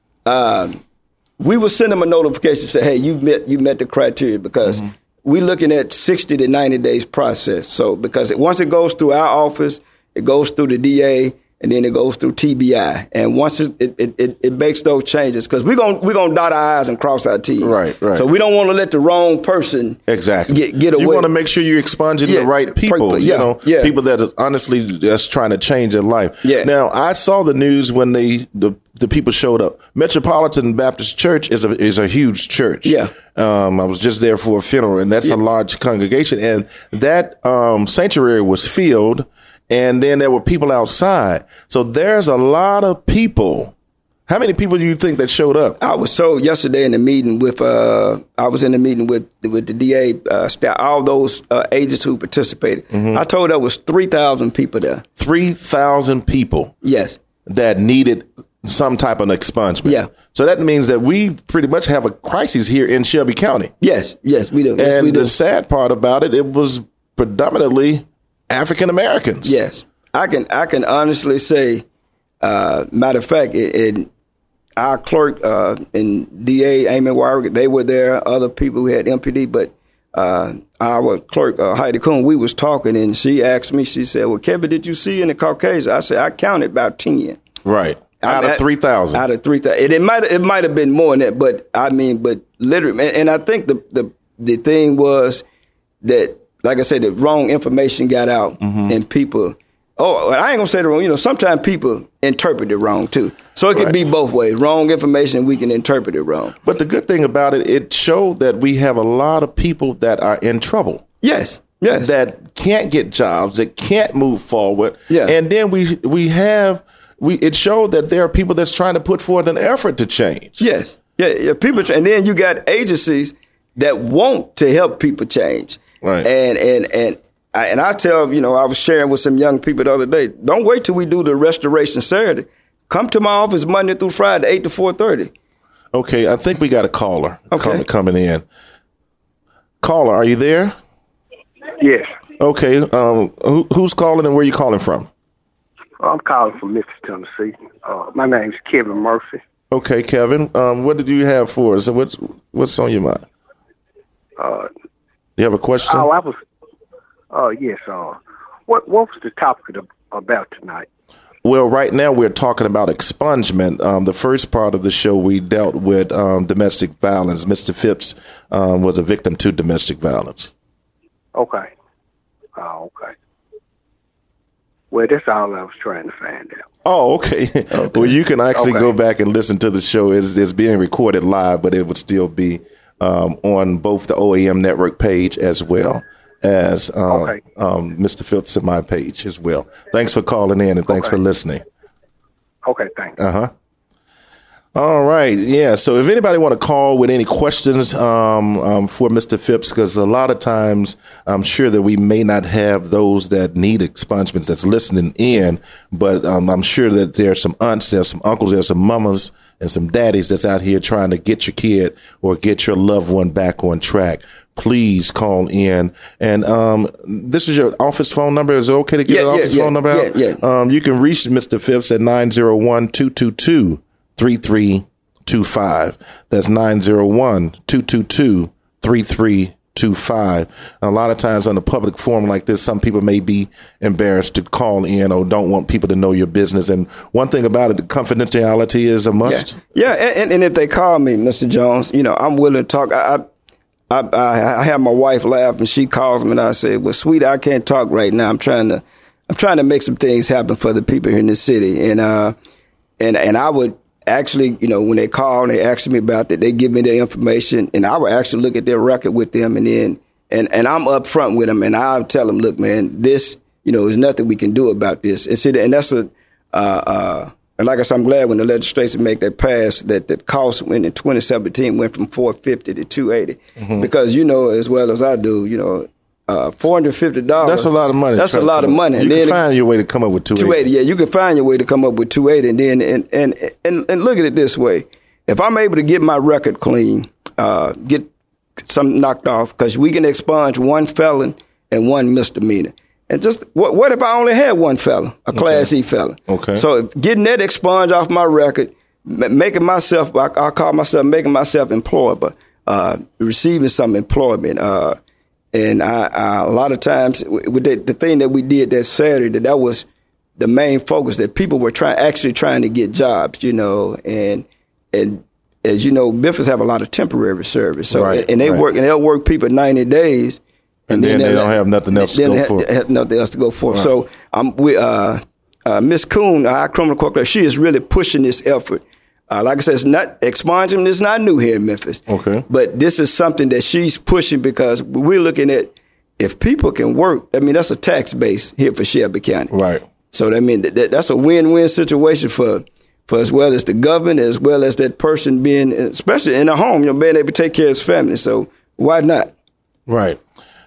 um, we will send them a notification say, hey, you met you met the criteria, because mm-hmm. we're looking at sixty to ninety days process. So because it, once it goes through our office, it goes through the D A, and then it goes through T B I. And once it it, it, it makes those changes, because we're going we're gonna dot our I's and cross our T's. Right, right. So we don't want to let the wrong person Exactly. get, get away. You want to make sure you're expunging Yeah, the right people, people, you yeah, know, yeah. people that are honestly just trying to change their life. Yeah. Now, I saw the news when they the, the people showed up. Metropolitan Baptist Church is a is a huge church. Yeah. Um, I was just there for a funeral, and that's Yeah. a large congregation, and that um, sanctuary was filled, and then there were people outside. So there's a lot of people How many people do you think that showed up? I was told yesterday in the meeting with, uh, I was in the meeting with with the D A, uh, staff, all those uh, agents who participated. Mm-hmm. I told there was three thousand people there. three thousand people? Yes. That needed some type of expungement. Yeah. So that means that we pretty much have a crisis here in Shelby County. Yes, yes, we do. Yes, and we do. The sad part about it, it was predominantly African Americans. Yes. I can I can honestly say, uh, matter of fact, it, it our clerk uh, and D A Amy Warwick, they were there. Other people who had M P D, but uh, our clerk uh, Heidi Kuhn, we was talking, and she asked me. She said, "Well, Kevin, did you see any Caucasian?" I said, "I counted about ten." Right, out I, of three thousand. Out of three thousand, it, it might it might have been more than that, but I mean, but literally, and, and I think the the the thing was that, like I said, the wrong information got out, mm-hmm. and people. Oh, I ain't gonna say the wrong. You know, sometimes people interpret it wrong too. So it could right. be both ways. Wrong information, we can interpret it wrong. But the good thing about it, it showed that we have a lot of people that are in trouble. Yes, yes. That can't get jobs, that can't move forward. Yeah. And then we we have we. It showed that there are people that's trying to put forth an effort to change. Yes, yeah, yeah. People, and then you got agencies that want to help people change. Right. And and and. I, and I tell, you know, I was sharing with some young people the other day, don't wait till we do the restoration Saturday. Come to my office Monday through Friday, eight to four thirty. Okay, I think we got a caller okay. coming, coming in. Caller, are you there? Yes. Okay, um, who, who's calling and where are you calling from? I'm calling from Memphis, Tennessee. Uh, my name's Kevin Murphy. Okay, Kevin, um, what did you have for us? What's, what's on your mind? Uh, you have a question? Oh, I was... Uh, yes. Uh, what what was the topic of, about tonight? Well, right now we're talking about expungement. Um, the first part of the show we dealt with um, domestic violence. Mister Phipps um, was a victim to domestic violence. Okay. Oh, okay. Well, that's all I was trying to find out. Oh, okay. okay. Well, you can actually okay. go back and listen to the show. It's, it's being recorded live, but it would still be um, on both the O A M network page as well. As um, okay. um, Mister Phipps and my page as well. Thanks for calling in and thanks okay. for listening. Okay, thanks. Uh huh. All right, yeah. So if anybody want to call with any questions um, um, for Mister Phipps, because a lot of times I'm sure that we may not have those that need expungements that's listening in, but um, I'm sure that there's some aunts, there's some uncles, there's some mamas and some daddies that's out here trying to get your kid or get your loved one back on track. Please call in. And um, this is your office phone number. Is it okay to get yeah, an yeah, office yeah, phone number out? Yeah, yeah. Um, you can reach Mister Phipps at nine zero one, two two two, three three two five. That's nine zero one, two two two, three three two five. A lot of times on a public forum like this, some people may be embarrassed to call in or don't want people to know your business. And one thing about it, the confidentiality is a must. Yeah, yeah and, and if they call me, Mister Jones, you know, I'm willing to talk. I, I I, I, I have my wife laugh, and she calls me, and I say, "Well, sweetie, I can't talk right now. I'm trying to, I'm trying to make some things happen for the people here in the city." And uh, and and I would actually, you know, when they call and they ask me about that, they give me their information, and I would actually look at their record with them, and then and and I'm upfront with them, and I'll tell them, "Look, man, this, you know, there's nothing we can do about this." And see, and that's a. Uh, uh, And like I said, I'm glad when the legislature make that pass that the cost when in twenty seventeen went from four fifty to two eighty, mm-hmm. because you know as well as I do, you know, uh, four hundred fifty dollars. That's a lot of money. That's a lot of money. You and can then find your way to come up with two eighty. two eighty, yeah, you can find your way to come up with two eighty, and then and and and, and look at it this way: if I'm able to get my record clean, uh, get some knocked off, because we can expunge one felon and one misdemeanor. And just what what if I only had one felon, a Class okay. E felon? Okay. So if getting that expunged off my record, making myself, I, I call myself making myself employable, uh, receiving some employment. Uh, and I, I, a lot of times, with the, the thing that we did that Saturday, that, that was the main focus, that people were trying actually trying to get jobs, you know, and and as you know, Memphis have a lot of temporary service, so right, and, and they right. work and they'll work people ninety days. And, and then, then they don't have nothing else to go have, for. Have nothing else to go for. Right. So um, we, uh, uh, Miz Kuhn, our criminal court clerk, she is really pushing this effort. Uh, like I said, it's not expungement is not new here in Memphis. Okay. But this is something that she's pushing because we're looking at if people can work. I mean, that's a tax base here for Shelby County. Right. So I mean, that, that's a win-win situation for for as well as the government, as well as that person being, especially in a home, you know, being able to take care of his family. So why not? Right.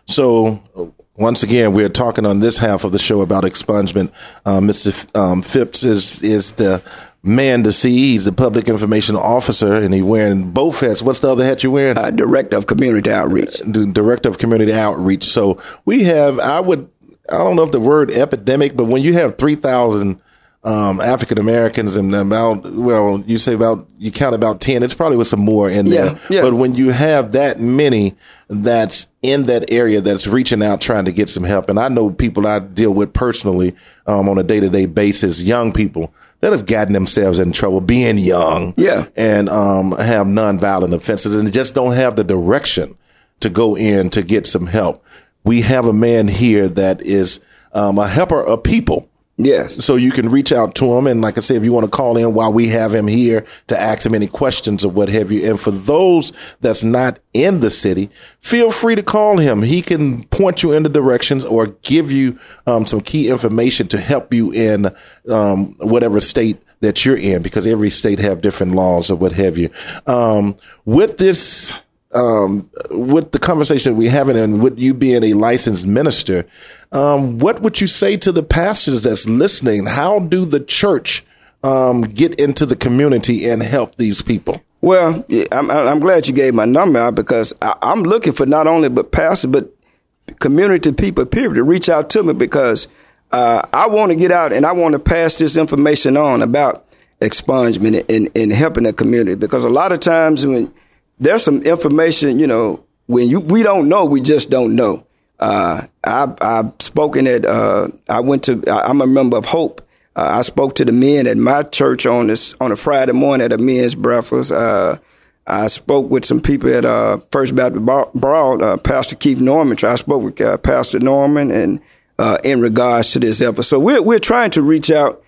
So once again, we're talking on this half of the show about expungement. Uh, Mister F- um, Phipps is is the man to see. He's the public information officer, and he's wearing both hats. What's the other hat you're wearing? Uh, Director of Community Outreach. The Director of Community Outreach. So we have, I would, I don't know if the word epidemic, but when you have three thousand um, African Americans and about, well, you say about, you count about ten, it's probably with some more in there. Yeah, yeah. But when you have that many that's in that area that's reaching out, trying to get some help. And I know people I deal with personally um, on a day-to-day basis, young people that have gotten themselves in trouble being young Yeah. and um, have nonviolent offenses and just don't have the direction to go in to get some help. We have a man here that is um, a helper of people. Yes. So you can reach out to him. And like I said, if you want to call in while we have him here to ask him any questions or what have you. And for those that's not in the city, feel free to call him. He can point you in the directions or give you um, some key information to help you in um, whatever state that you're in, because every state have different laws or what have you. Um, with this, um, with the conversation we're having and with you being a licensed minister, um, what would you say to the pastors that's listening? How do the church um, get into the community and help these people? Well, yeah, I'm, I'm glad you gave my number out, because I, I'm looking for not only but pastors, but community people, period, to reach out to me, because uh, I want to get out and I want to pass this information on about expungement and, and helping the community. Because a lot of times when there's some information, you know, when you we don't know, we just don't know. Uh, I, I've spoken at, uh, I went to, I'm a member of Hope. Uh, I spoke to the men at my church on this on a Friday morning at a men's breakfast. Uh, I spoke with some people at uh, First Baptist Broad, uh, Pastor Keith Norman. I spoke with uh, Pastor Norman, and uh, in regards to this effort. So we're we're trying to reach out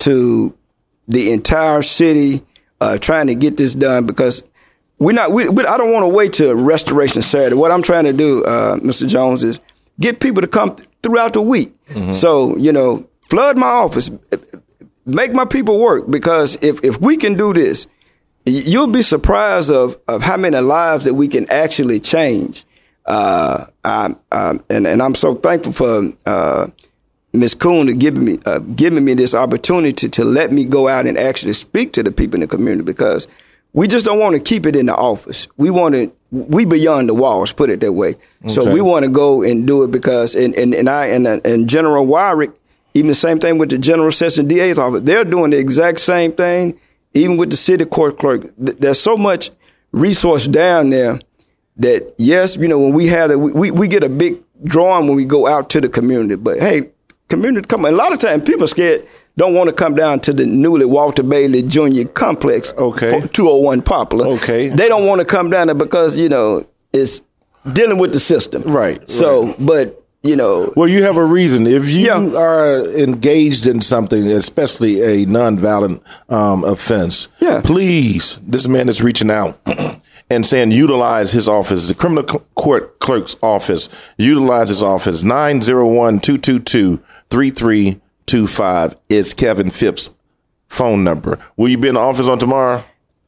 to the entire city, uh, trying to get this done, because we're not. We, we, I don't want to wait till Restoration Saturday. What I'm trying to do, uh, Mister Jones, is get people to come th- throughout the week. Mm-hmm. So you know. Flood my office, make my people work, because if, if we can do this, you'll be surprised of, of how many lives that we can actually change. Uh, I, I, and, and I'm so thankful for uh, Miz Kuhn to giving me uh, giving me this opportunity to, to let me go out and actually speak to the people in the community, because we just don't want to keep it in the office. We want to, we beyond the walls, put it that way. Okay. So we want to go and do it, because, and, and, and I, and, and General Wyrick, even the same thing with the General Session D A's office. They're doing the exact same thing, even with the city court clerk. There's so much resource down there that, yes, you know, when we have it, we, we get a big drawing when we go out to the community. But, hey, community, come on. A lot of times people are scared, don't want to come down to the newly Walter Bailey Junior Complex, okay, two oh one Poplar. Okay. They don't want to come down there because, you know, it's dealing with the system. Right. So, right. but... You know, well, you have a reason. If you yeah. are engaged in something, especially a nonviolent um, offense, yeah. please, this man is reaching out and saying utilize his office, the criminal court clerk's office, utilize his office. nine oh one, two two two, three three two five is Kevin Phipps' phone number. Will you be in the office on tomorrow?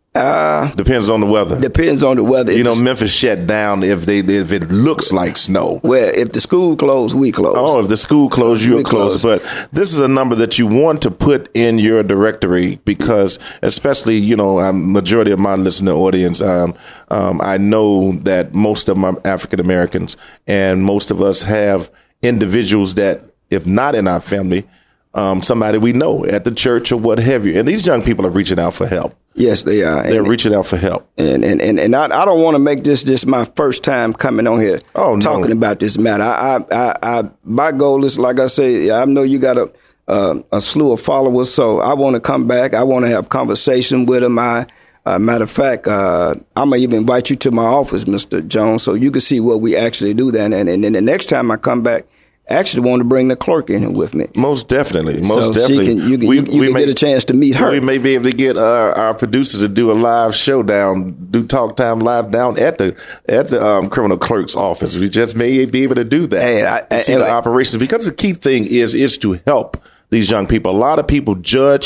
Uh, depends on the weather. Depends on the weather. You know, Memphis shut down if they if it looks like snow. Well, if the school closed, we close. Oh, if the school closed, you're closed. Close. But this is a number that you want to put in your directory, because especially, you know, um, majority of my listener audience, um, um, I know that most of my African Americans and most of us have individuals that, if not in our family, um, somebody we know at the church or what have you. And these young people are reaching out for help. Yes, they are. They're and, reaching out for help. And and, and, and I, I don't want to make this just my first time coming on here oh, talking no. about this matter. I, I, I, I, my goal is, like I say, I know you got a uh, a slew of followers, so I want to come back. I want to have conversation with them. I, uh, matter of fact, uh, I'm going to even invite you to my office, Mister Jones, so you can see what we actually do then. And, and then the next time I come back, actually want to bring the clerk in here with me. Most definitely. Most so definitely. She can, you can, we, you, you we can may, get a chance to meet her. We may be able to get uh, our producers to do a live showdown, do Talk Time Live down at the at the um, criminal clerk's office. We just may be able to do that. Hey, I, to see I, the I, operations, because the key thing is is to help these young people. A lot of people judge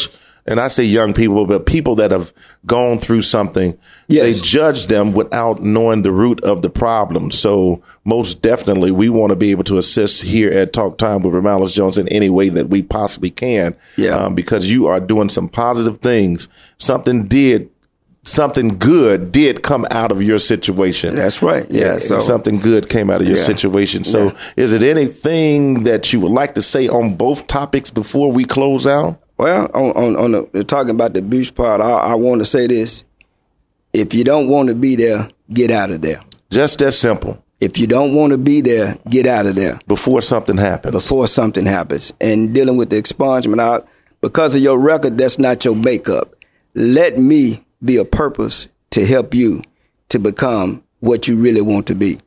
and I say young people, but people that have gone through something, Yes. they judge them without knowing the root of the problem. So most definitely, we want to be able to assist here at Talk Time with Romelis Jones in any way that we possibly can. Yeah. Um, because you are doing some positive things. Something did, something good did come out of your situation. That's right. Yeah. And So something good came out of your Yeah. situation. So Yeah. is it anything that you would like to say on both topics before we close out? Well, on on, on the, talking about the abuse part, I, I want to say this: if you don't want to be there, get out of there. Just that simple. If you don't want to be there, get out of there Before something happens. before something happens. And dealing with the expungement, I, because of your record, that's not your makeup. Let me be a purpose to help you to become what you really want to be.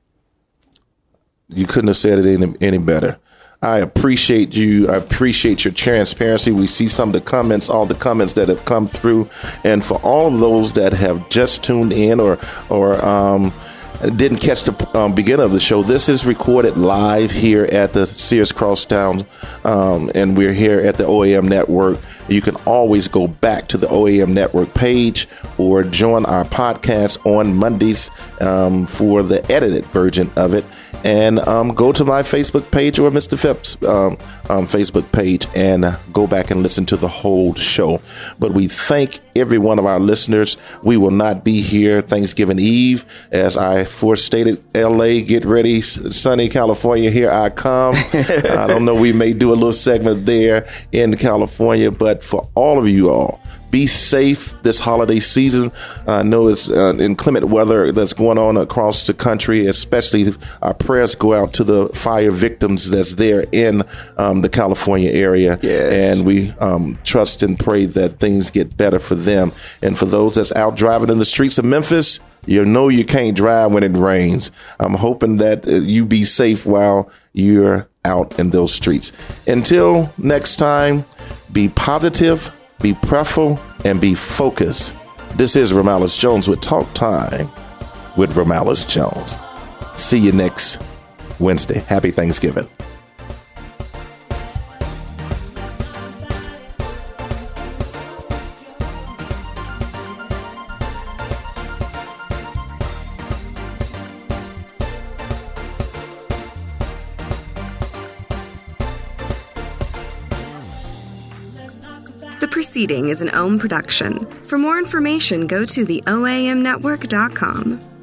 You couldn't have said it any, any better. I appreciate you. I appreciate your transparency. We see some of the comments, all the comments that have come through. And for all of those that have just tuned in or, or, um, didn't catch the um, beginning of the show, this is recorded live here at the Sears Crosstown, um, and we're here at the O A M Network. You can always go back to the O A M Network page or join our podcast on Mondays um, for the edited version of it. And um, go to my Facebook page or Mister Phipps' um, um, Facebook page and uh, go back and listen to the whole show. But we thank every one of our listeners. We will not be here Thanksgiving Eve. As I forestated, L A, get ready. Sunny California, here I come. I don't know, we may do a little segment there in California. But for all of you all, be safe this holiday season. I know it's uh, inclement weather that's going on across the country, especially our prayers go out to the fire victims that's there in um, the California area. Yes. And we um, trust and pray that things get better for them. And for those that's out driving in the streets of Memphis, you know you can't drive when it rains. I'm hoping that uh, you be safe while you're out in those streets. Until next time, be positive, be prayerful, and be focused. This is Romelis Jones with Talk Time with Romelis Jones. See you next Wednesday. Happy Thanksgiving. The proceeding is an O M production. For more information, go to the O A M network dot com.